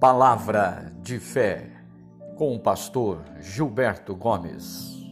Palavra de fé, com o pastor Gilberto Gomes.